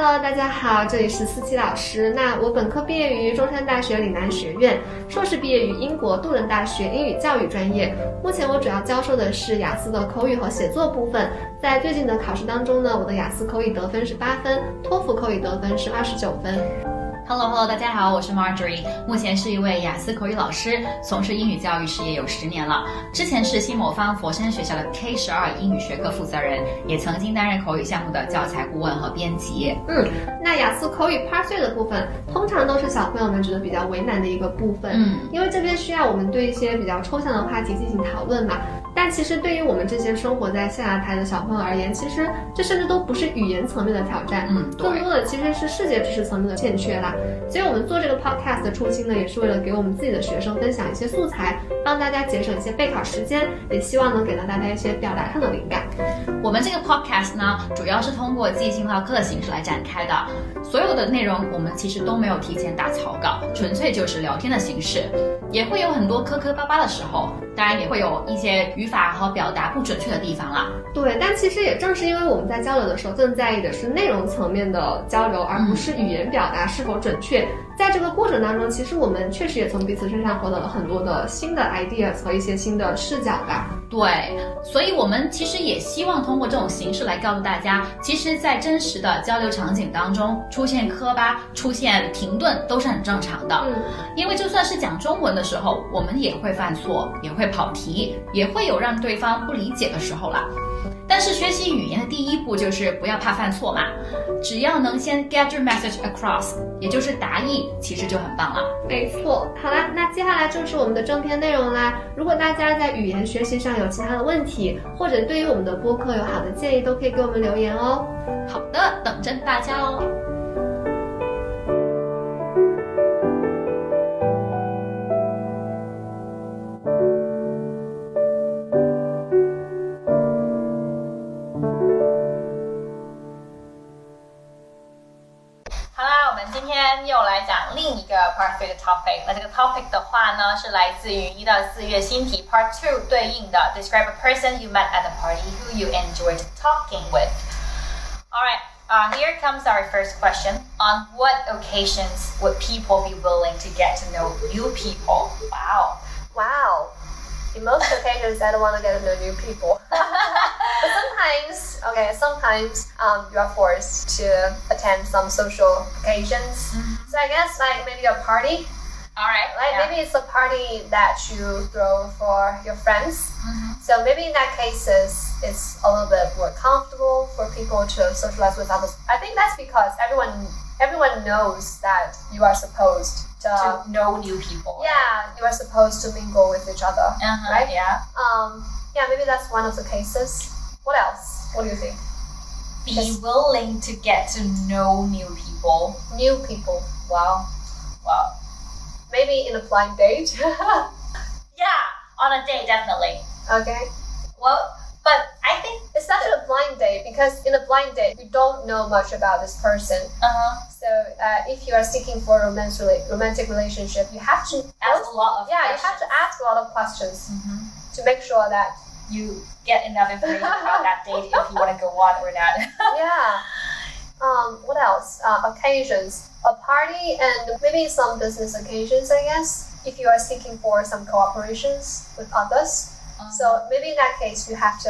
Hello， 大家好，这里是思琪老师。那我本科毕业于中山大学岭南学院，硕士毕业于英国杜伦大学英语教育专业。目前我主要教授的是雅思的口语和写作部分。在最近的考试当中呢，我的雅思口语得分是8分，托福口语得分是29分。 Hello， 大家好，我是 Marjorie， 目前是一位雅思口语老师，从事英语教育事业有10年了。之前是新某方佛山学校的 K12 英语学科负责人，也曾经担任口语项目的教材顾问和编辑。 那雅思口语 Part 3的部分，通常都是小朋友们觉得比较为难的一个部分，因为这边需要我们对一些比较抽象的话题进行讨论嘛。但其实对于我们这些生活在象牙台的小朋友而言，其实这甚至都不是语言层面的挑战，更多的其实是世界知识层面的欠缺啦。所以我们做这个 podcast 的初心呢，也是为了给我们自己的学生分享一些素材，帮大家节省一些备考时间，也希望能给到大家一些表达上的灵感。 我们这个 podcast 呢，主要是通过即兴唠嗑的形式来展开的，所有的内容我们其实都没有提前打草稿，纯粹就是聊天的形式，也会有很多磕磕巴巴的时候，当然也会有一些语法和表达不准确的地方啦。 对，但其实也正是因为我们在交流的时候更在意的是内容层面的交流，而不是语言表达是否准确。在这个过程当中，其实我们确实也从彼此身上获得了很多的新的 ideas 和一些新的视角吧。 对，所以我们其实也希望通过这种形式来告诉大家，其实在真实的交流场景当中，出现磕巴、出现停顿都是很正常的。因为就算是讲中文的时候，我们也会犯错，也会跑题，也会有让对方不理解的时候啦。但是学习语言的第一步就是不要怕犯错嘛，只要能先 get your message across， 也就是达意，其实就很棒了。 没错。好啦，那接下来就是我们的正片内容啦。如果大家在语言学习上有其他的问题，或者对于我们的播客有好的建议，都可以给我们留言哦。 好的，等着大家哦。今天又来讲另一个 Part 3的 topic， 那这个 topic 的话呢，是来自于1到4月新题 Part 2对应的 Describe a person you met at a party who you enjoyed talking with. Alright, here comes our first question. On what occasions would people be willing to get to know new people? Wow. In most occasions, I don't want to get to know new people. But sometimes you are forced to attend some social occasions. So I guess like maybe a party. Alright. Maybe it's a party that you throw for your friends. So maybe in that cases, it's a little bit more comfortable for people to socialize with others. I think that's because everyone knows that you are supposed to know new people. Yeah, you are supposed to mingle with each other, right? Yeah. Maybe that's one of the cases. What else? What do you think? Be willing to get to know new people. New people. Wow. Maybe in a blind date. Yeah, on a date, definitely. Okay. Well, but I think it's not a blind date because in a blind date you don't know much about this person. So if you are seeking for a romantic relationship, you have to ask a lot of questions. You have to ask a lot of questions to make sure that you get enough information about that date if you want to go on or not. Yeah. What else? Occasions. A party and maybe some business occasions, I guess, if you are seeking for some cooperations with others. So maybe in that case, you have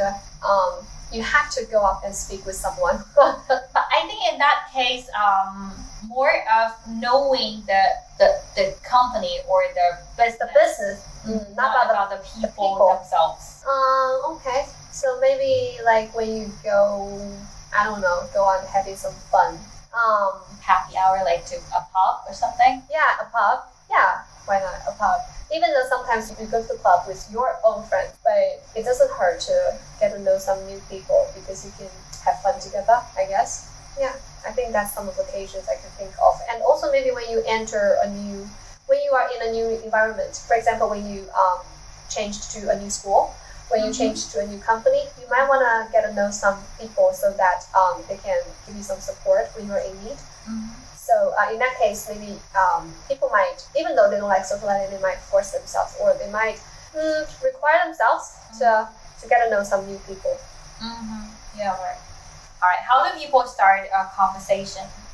to go up and speak with someone. But I think in that case, more of knowing the company or the business, not about the people themselves. Okay. So maybe like when you go, I don't know, go on having some fun. Happy hour, like to a pub or something? Yeah, a pub. Yeah, why not a pub? Even though sometimes you go to the club with your own friends, but it doesn't hurt to get to know some new people because you can have fun together, I guess. Yeah, I think that's some of the occasions I can think of. And also maybe when you when you are in a new environment, for example, when you change to a new school, when you change to a new company, you might want to get to know some people so that they can give you some support when you're in need. So in that case, maybe people might, even though they don't like socializing, they might force themselves, or they might require themselves to get to know some new people. Yeah, right. All right. How do people start a conversation?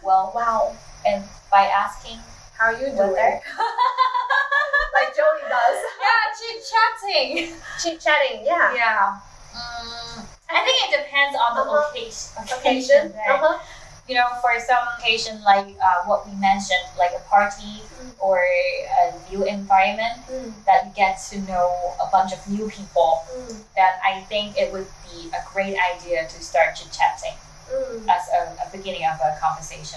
well, Wow. and by asking How are you doing? whether Like Joey does. chit-chatting. Chit-chatting, yeah. Yeah. I think it depends on the occasion. Right? You know, for some occasion, like what we mentioned, like a party or a new environment that you get to know a bunch of new people, then I think it would be a great idea to start chit-chatting as a beginning of a conversation.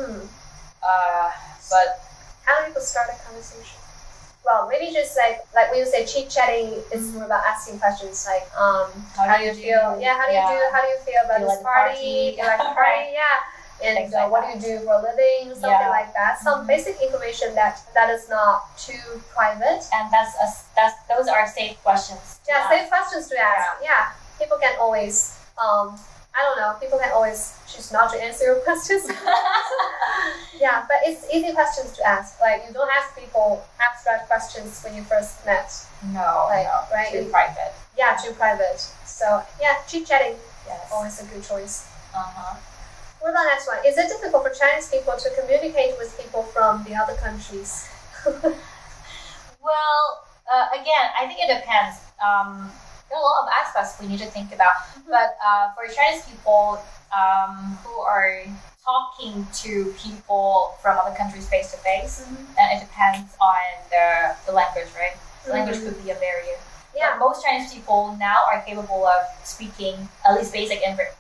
But how do people start a conversation? Well, maybe just like when you say chit-chatting, it's more about asking questions like, how do you feel? Yeah, how do you do? How do you feel about this party? Do you like the party? Yeah. And what do you do for a living? Something like that. Some basic information that is not too private. And those are safe questions. Yeah, safe questions to ask. Yeah. People can always I don't know. People can always choose not to answer your questions. Yeah, but it's easy questions to ask. Like, you don't ask people abstract questions when you first met. No, right? Too private. Yeah, too private. So, yeah, chit-chatting. Yes. Always a good choice. What about next one? Is it difficult for Chinese people to communicate with people from the other countries? Well, again, I think it depends. There are a lot of aspects we need to think about. But for Chinese people who are talking to people from other countries face to face, then it depends on the language, right? The language could be a barrier. Yeah. But most Chinese people now are capable of speaking at least basic English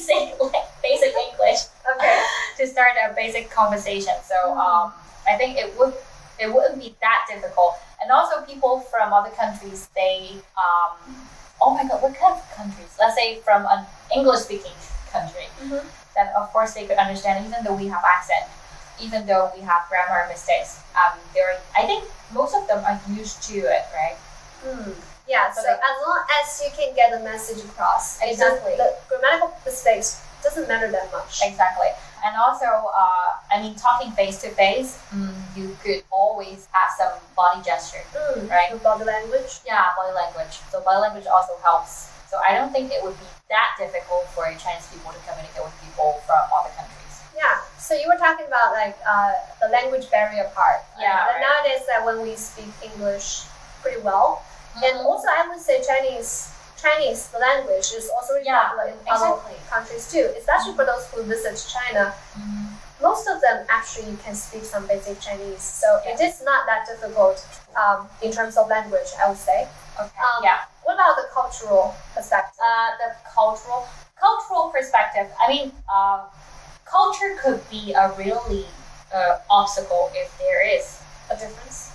to start a basic conversation. So I think it wouldn't be that difficult. And also people from other countries, they oh my god, what kind of countries? Let's say from an English-speaking country, then of course they could understand, even though we have accent, even though we have grammar mistakes. I think most of them are used to it, right? Yeah, so as long as you can get the message across, exactly, the grammatical mistakes doesn't matter that much. Exactly. And also, talking face to face, you could always have some body gesture, right? Body language. Yeah, body language. So body language also helps. So I don't think it would be that difficult for Chinese people to communicate with people from other countries. Yeah. So you were talking about like the language barrier part. Yeah. But nowadays, when we speak English pretty well, and also I would say Chinese, the language is also really popular in other countries too, especially for those who visit China. Most of them actually can speak some basic Chinese, so it is not that difficult in terms of language, I would say. Okay. What about the cultural perspective? The cultural perspective. I mean, culture could be a really obstacle if there is a difference.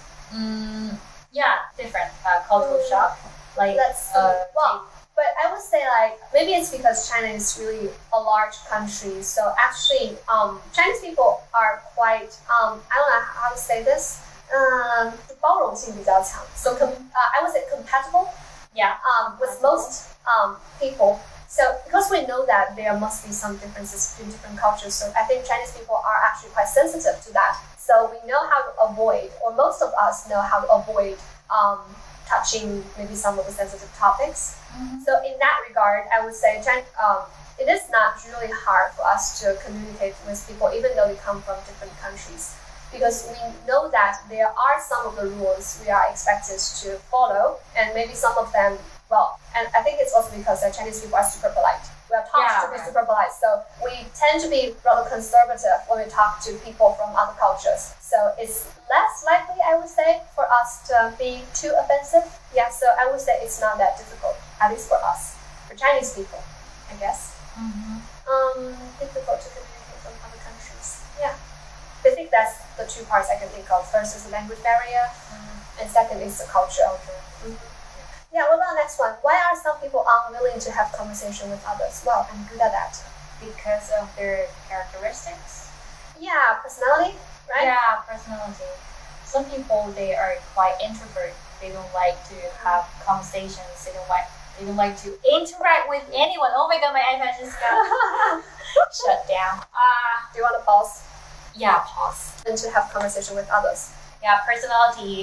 Different cultural shock. Like but I would say maybe it's because China is really a large country. So actually, Chinese people are quite I don't know how to say this. 包容性比较强. So I would say compatible. With most people. So because we know that there must be some differences between different cultures, so I think Chinese people are actually quite sensitive to that. So we know how to avoid, or most of us know how to avoid touching maybe some of the sensitive topics. So in that regard, I would say it is not really hard for us to communicate with people, even though we come from different countries, because we know that there are some of the rules we are expected to follow, and maybe some of them, and I think it's also because Chinese people are super polite. We are taught to be super polite, so we tend to be rather conservative when we talk to people from other cultures. So it's less likely, I would say, for us to be too offensive. Yeah, so I would say it's not that difficult, at least for us, for Chinese people, I guess. Difficult to communicate from other countries. Yeah, I think that's the two parts I can think of. First is the language barrier, and second is the culture. Yeah, what about the next one? Why are some people unwilling to have conversation with others? Well, I'm good at that. Because of their characteristics? Yeah, personality, right? Yeah, personality. Some people, they are quite introvert. They don't like to have conversations. They don't like to interact with anyone. Oh my god, my iPad just got shut down. Do you want to pause? Yeah, pause. And to have conversation with others. Yeah, personality.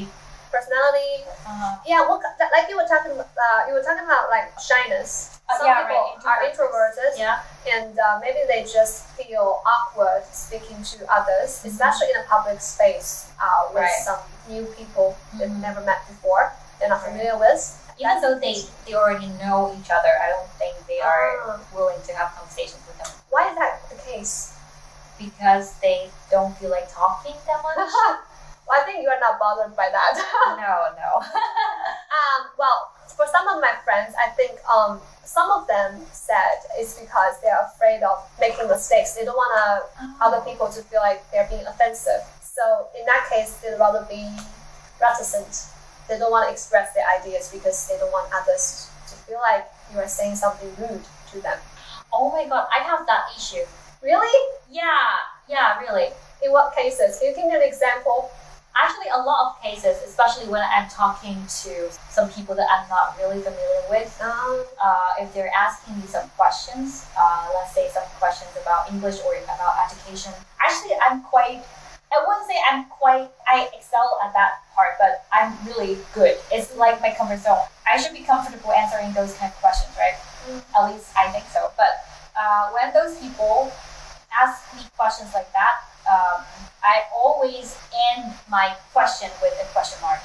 personality. Yeah, like you were talking about like shyness. Some people are introverted, and maybe they just feel awkward speaking to others, especially in a public space with some new people they've never met before, they're not familiar with. Even though they already know each other, I don't think they are willing to have conversations with them. Why is that the case? Because they don't feel like talking that much. Well, I think you are not bothered by that. No. Well, for some of my friends, I think some of them said it's because they're afraid of making mistakes. They don't want other people to feel like they're being offensive. So in that case, they'd rather be reticent. They don't want to express their ideas because they don't want others to feel like you are saying something rude to them. Oh my god, I have that issue. Really? Yeah, really. In what cases? Can you give me an example? Actually, a lot of cases, especially when I'm talking to some people that I'm not really familiar with. If they're asking me some questions, let's say some questions about English or about education. Actually, I wouldn't say I excel at that part, but I'm really good. It's like my comfort zone. I should be comfortable answering those kind of questions, right? At least I think so. But when those people ask me questions like that, I always end my question with a question mark.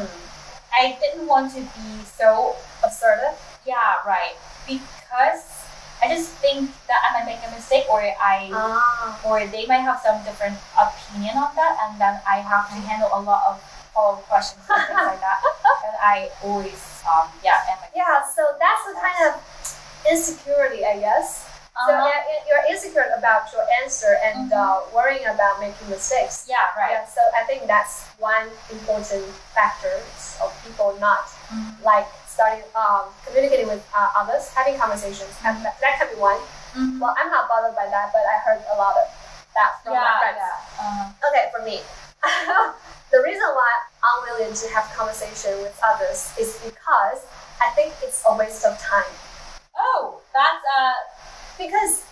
I didn't want to be so assertive. Yeah, right. Because I just think that I might make a mistake, or they might have some different opinion on that, and then I have to handle a lot of follow-up questions and things like that. And I always, so that's the kind of insecurity, I guess. So you're insecure about your answer and worrying about making mistakes. Yeah, right. Yeah, so I think that's one important factor of people not like starting communicating with others, having conversations. And that can be one. Well, I'm not bothered by that, but I heard a lot of that from my friends. Okay, for me, the reason why I'm willing to have conversation with others is because I think it's a waste of time. Oh, that's because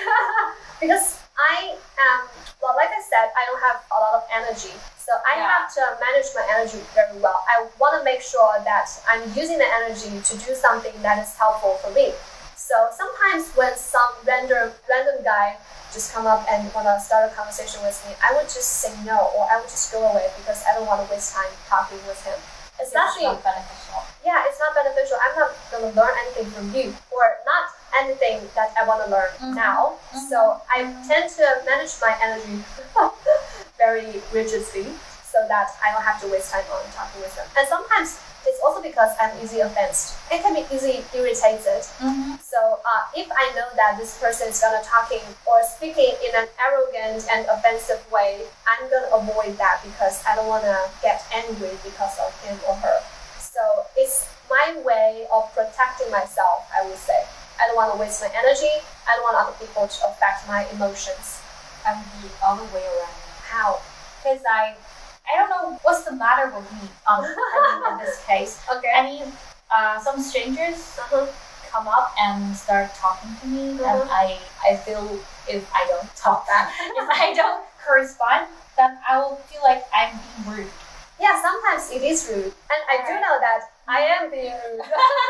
I am, well, like I said, I don't have a lot of energy. So I have to manage my energy very well. I want to make sure that I'm using the energy to do something that is helpful for me. So sometimes when some random guy just come up and want to start a conversation with me, I would just say no, or I would just go away because I don't want to waste time talking with him. Especially, it's not beneficial. Yeah, it's not beneficial. I'm not going to learn anything from you, or not anything that I want to learn now. So I tend to manage my energy very rigidly so that I don't have to waste time on talking with them. And sometimes it's also because I'm easily offended. I can be easily irritated. So if I know that this person is gonna talking or speaking in an arrogant and offensive way, I'm gonna avoid that because I don't wanna get angry because of him or her. So it's my way of protecting myself, I would say. I don't want to waste my energy. I don't want other people to affect my emotions. I'm the other way around. How? Because I don't know what's the matter with me. In this case. Okay. I mean, some strangers come up and start talking to me, and I feel if I don't talk back, if I don't correspond, then I will feel like I'm being rude. Yeah, sometimes it is rude, and I do know that I am being rude.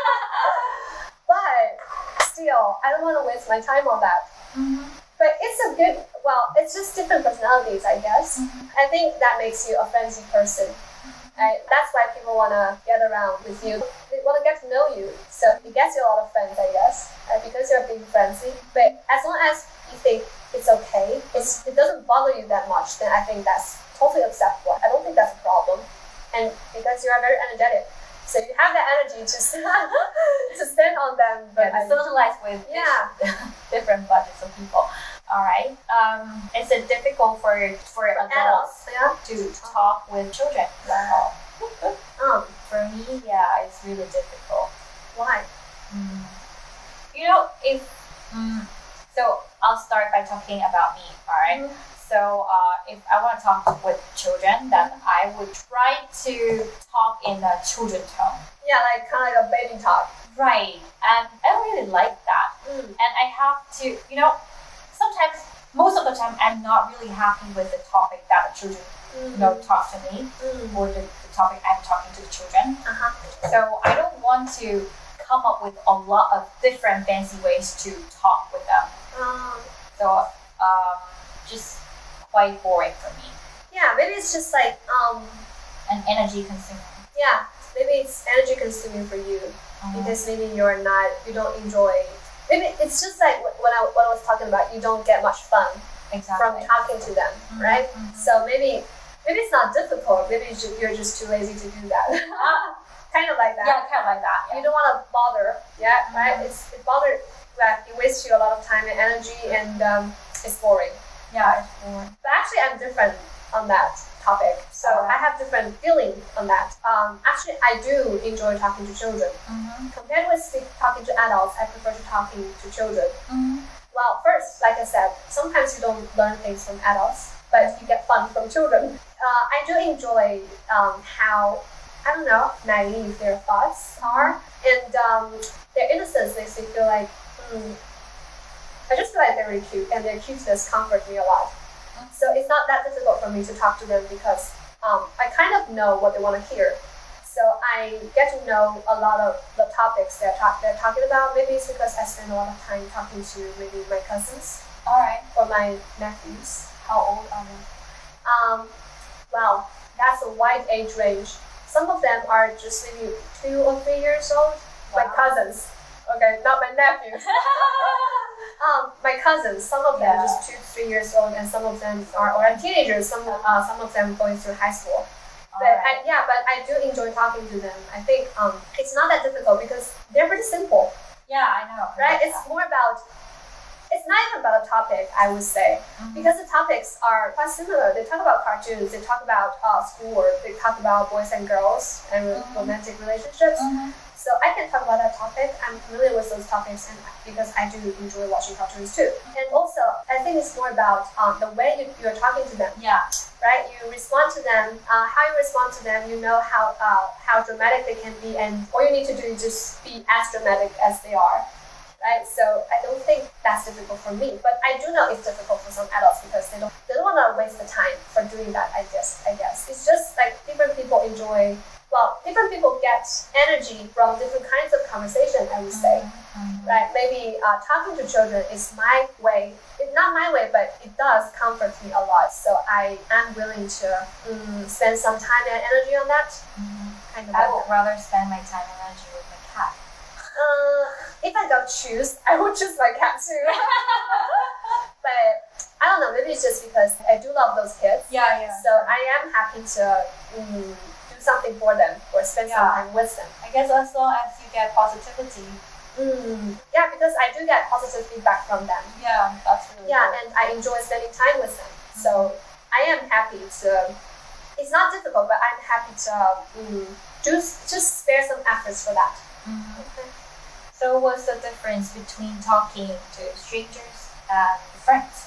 But still, I don't want to waste my time on that. But it's a good, it's just different personalities, I guess. I think that makes you a friendly person. Right? That's why people want to get around with you. They want to get to know you. So it gets you a lot of friends, I guess, because you're being friendly. But as long as you think it's okay, it doesn't bother you that much, then I think that's totally acceptable. I don't think that's a problem. And because you are very energetic. So you have that energy to stand on them, but socialize with different budgets of people. All right. Is it difficult for adults to talk with children? For me, it's really difficult. Why? You know, so I'll start by talking about me. All right. So if I want to talk with children, then I would try to talk in a children's tone. Yeah, like kind of like a baby talk. Right. And I don't really like that. And I have to, sometimes, most of the time, I'm not really happy with the topic that the children talk to me or the topic I'm talking to the children. So I don't want to come up with a lot of different fancy ways to talk with them. So just quite boring for me. Yeah, maybe it's just like an energy consuming. Yeah, maybe it's energy consuming for you because maybe you don't enjoy. Maybe it's just like what I was talking about. You don't get much fun from talking to them, right? So maybe it's not difficult. Maybe you're just too lazy to do that. Kind of like that. Yeah, kind of like that. Yeah. You don't want to bother. Yeah, right. It bothers. It wastes you a lot of time and energy, and it's boring. Yeah, it's boring. But actually, I'm different on that topic. So I have different feeling on that. Actually, I do enjoy talking to children. Compared with talking to adults, I prefer to talking to children. Well, first, like I said, sometimes you don't learn things from adults, but you get fun from children. I do enjoy how, I don't know, naive their thoughts are, and their innocence makes me feel like, I just feel like they're really cute, and their cuteness comforts me a lot. So it's not that difficult for me to talk to them because I kind of know what they want to hear. So I get to know a lot of the topics they're talking about. Maybe it's because I spend a lot of time talking to maybe my cousins, or my nephews. How old are they? Well, that's a wide age range. Some of them are just maybe 2 or 3 years old. My cousins. Okay, not my nephews. My cousins, some of them just 2 to 3 years old, and some of them are teenagers. Some of them going through high school. But I do enjoy talking to them. I think it's not that difficult because they're pretty simple. Yeah, I know. Right? It's more about. It's not even about a topic, I would say, because the topics are quite similar. They talk about cartoons. They talk about schoolwork. They talk about boys and girls and romantic relationships. So I can talk about that topic. I'm familiar with those topics, and because I do enjoy watching cartoons too. And also, I think it's more about the way you're talking to them. Yeah. Right. You respond to them. How you respond to them, you know how dramatic they can be, and all you need to do is just be as dramatic as they are. Right. So I don't think that's difficult for me, but I do know it's difficult for some adults because they don't want to waste the time for doing that. I guess it's just like different people enjoy. Well, different people get energy from different kinds of conversation, I would say. Right? Maybe talking to children is my way. It's not my way, but it does comfort me a lot. So I am willing to spend some time and energy on that. I would rather spend my time and energy with my cat. If I don't choose, I would choose my cat too. But I don't know, maybe it's just because I do love those kids. Yeah. So I am happy to do something for them or spend some time with them. I guess as long as you get positivity. Yeah, because I do get positive feedback from them. Yeah, that's really cool. And I enjoy spending time with them. So I am happy to. It's not difficult, but I'm happy to just spare some efforts for that. Okay. So what's the difference between talking to strangers and friends?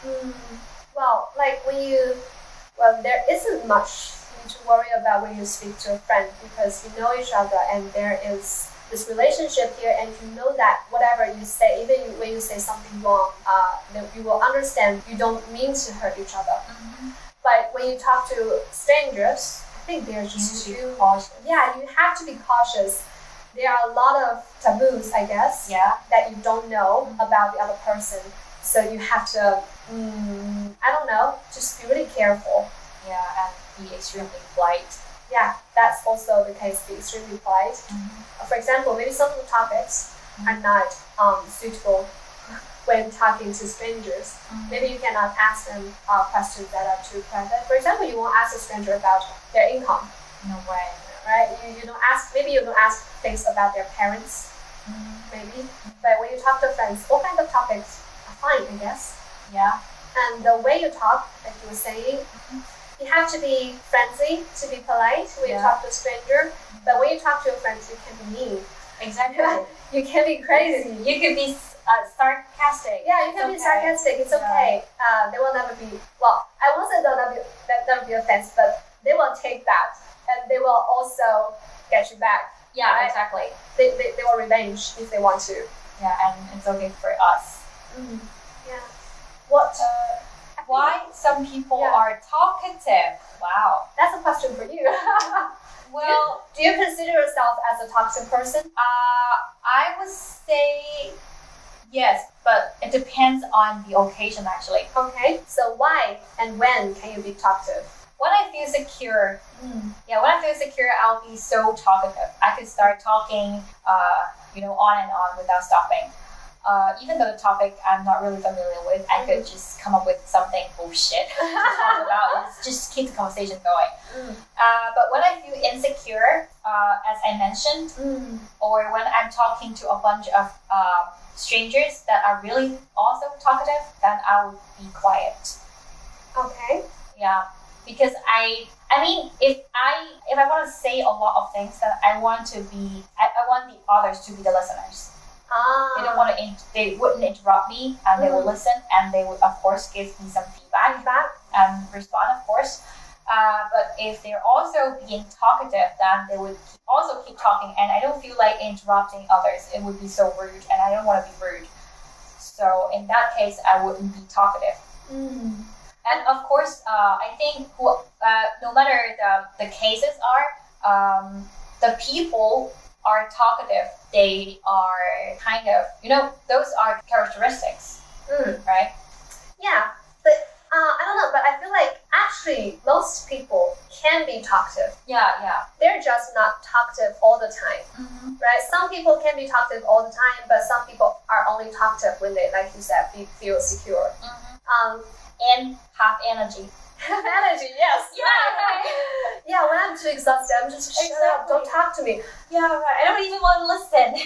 Well, like there isn't much to worry about when you speak to a friend because you know each other and there is this relationship here, and you know that whatever you say, even when you say something wrong, you will understand you don't mean to hurt each other. But when you talk to strangers, I think they're just too cautious. Yeah, you have to be cautious. There are a lot of taboos, I guess, that you don't know about the other person. So you have to, I don't know, just be really careful. Yeah, and be extremely polite. Yeah, that's also the case, be extremely polite. For example, maybe some of the topics are not suitable when talking to strangers. Maybe you cannot ask them questions that are too private. For example, you won't ask a stranger about their income. No way. Right? You don't ask, maybe you don't ask things about their parents, maybe. But when you talk to friends, all kinds of topics are fine, I guess. Yeah. And the way you talk, like you were saying, you have to be friendly, to be polite when you talk to a stranger. But when you talk to your friends, you can be mean. Exactly. You can be crazy. You can be sarcastic. Yeah, you can be sarcastic. It's okay. They will never be. Well, I won't say they'll never be offense, but they will take that, and they will also get you back. Yeah, right? exactly. They will revenge if they want to. Yeah, and it's okay for us. Yeah. Why some people are talkative. Wow. That's a question for you. Well, do you consider yourself as a talkative person? I would say yes, but it depends on the occasion actually. Okay. So why and when can you be talkative? When I feel secure, I'll be so talkative. I could start talking, on and on without stopping. Even though the topic I'm not really familiar with, I could just come up with something bullshit to talk about and just keep the conversation going. But when I feel insecure, as I mentioned, or when I'm talking to a bunch of strangers that are really also talkative, then I would be quiet. Okay. Yeah, because I mean, if I want to say a lot of things, then I want the others to be the listeners. They don't want to. They wouldn't interrupt me, and they will listen, and they would, of course, give me some feedback and respond, of course. But if they're also being talkative, then they would also keep talking, and I don't feel like interrupting others. It would be so rude, and I don't want to be rude. So in that case, I wouldn't be talkative. And of course, I think no matter the cases are, the people are talkative. They are kind of, those are characteristics, right? Yeah, but I don't know, but I feel like actually most people can be talkative. Yeah. They're just not talkative all the time, right? Some people can be talkative all the time, but some people are only talkative when they, like you said, feel secure. And have energy. Have energy, yes. Yeah, right. Yeah, when I'm too exhausted, I'm just shut up, don't talk to me. Yeah, right. I don't even want to listen.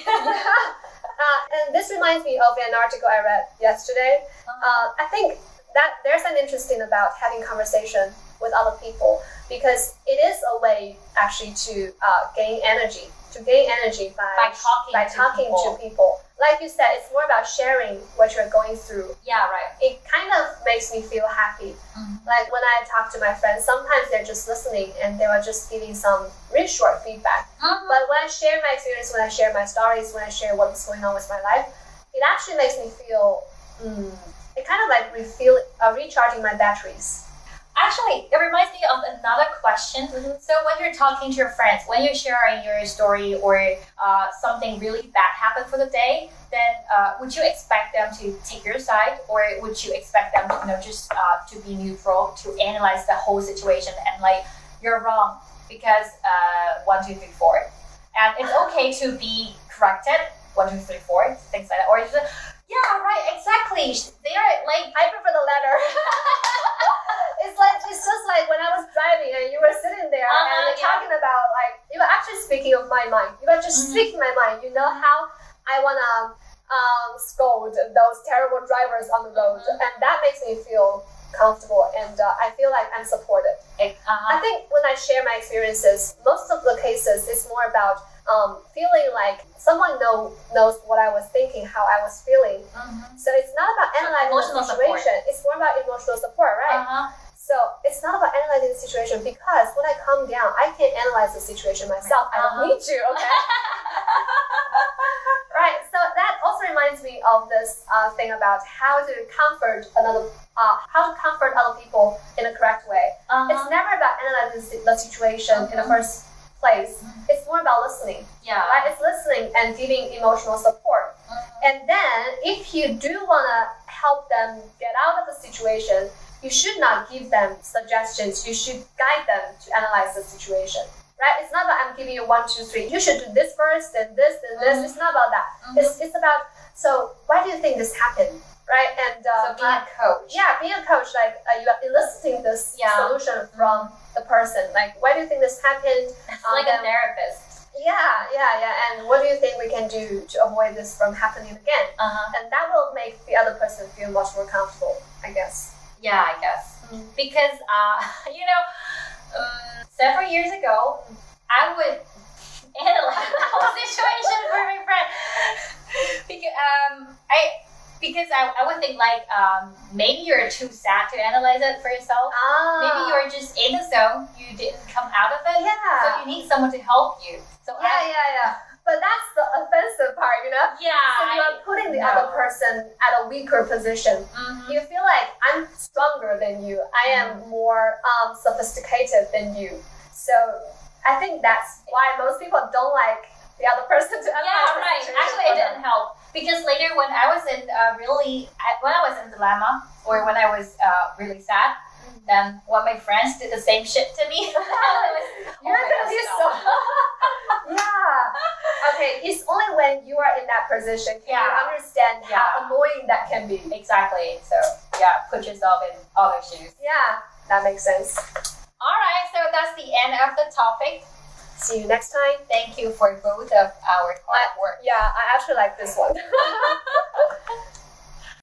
And this reminds me of an article I read yesterday. I think that there's an interesting about having conversation with other people, because it is a way actually to gain energy. By talking to people. Like you said, it's more about sharing what you're going through. Yeah, right. It kind of makes me feel happy. Like when I talk to my friends, sometimes they're just listening and they were just giving some really short feedback. But when I share my experience, when I share my stories, when I share what's going on with my life, it actually makes me feel, it kind of like recharging my batteries. Actually, it reminds me of another question. So when you're talking to your friends, when you're sharing your story or something really bad happened for the day, then would you expect them to take your side, or would you expect them to, just to be neutral, to analyze the whole situation and like, you're wrong because 1, 2, 3, 4, and it's okay to be corrected, 1, 2, 3, 4, things like that, or just, yeah, right, exactly. They are like, I prefer the latter. It's just like when I was driving and you were sitting there and talking about, like, you were actually speaking of my mind. You were just speaking my mind. You know how I want to scold those terrible drivers on the road. And that makes me feel comfortable, and I feel like I'm supported. I think when I share my experiences, most of the cases, it's more about feeling like someone knows what I was thinking, how I was feeling. So it's not about analyzing the situation. It's more about emotional support, right? So it's not about analyzing the situation, because when I calm down, I can analyze the situation myself. I don't need to, okay? Right. So that also reminds me of this thing about how to comfort other people in a correct way. It's never about analyzing the situation in the first place. It's more about listening. Yeah. Right? It's listening and giving emotional support. And then if you do want to help them get out of the situation, you should not give them suggestions. You should guide them to analyze the situation. Right? It's not about I'm giving you 1, 2, 3. You should do this first, then this, then this. It's not about that. It's about, so why do you think this happened? Right? And so being a coach. Yeah, being a coach, like you are eliciting this solution from the person. Like, why do you think this happened? It's like a therapist. Yeah. And what do you think we can do to avoid this from happening again? And that will make the other person feel much more comfortable, I guess. Yeah, I guess. Because, several years ago, I would analyze the whole situation for my friend. Because I would think like, maybe you're too sad to analyze it for yourself. Maybe you're just in the zone. You didn't come out of it. Yeah. So you need someone to help you. So yeah. But that's the offensive part, you know? Yeah. So you are putting the other person at a weaker position. You feel like I'm stronger than you. I am more sophisticated than you. So I think that's why most people don't like the other person to Yeah, right. Actually, it didn't help. Because later when I was in when I was in dilemma, or when I was really sad, then one of my friends did the same shit to me. You're gonna be so... Yeah. Okay, it's only when you are in that position can you understand how annoying that can be. Exactly. So yeah, put yourself in other shoes. Yeah, that makes sense. Alright, so that's the end of the topic. See you next time. Thank you for both of our hard work. Yeah, I actually like this one.